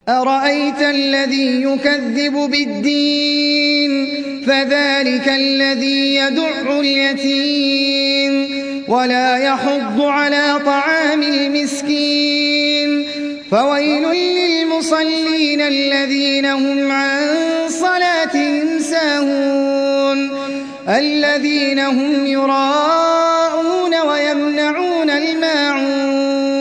أرأيت الذي يكذب بالدين فذلك الذي يدع اليتيم ولا يحض على طعام المسكين فويل للمصلين الذين هم عن صلاتهم ساهون الذين هم يراءون ويمنعون الماعون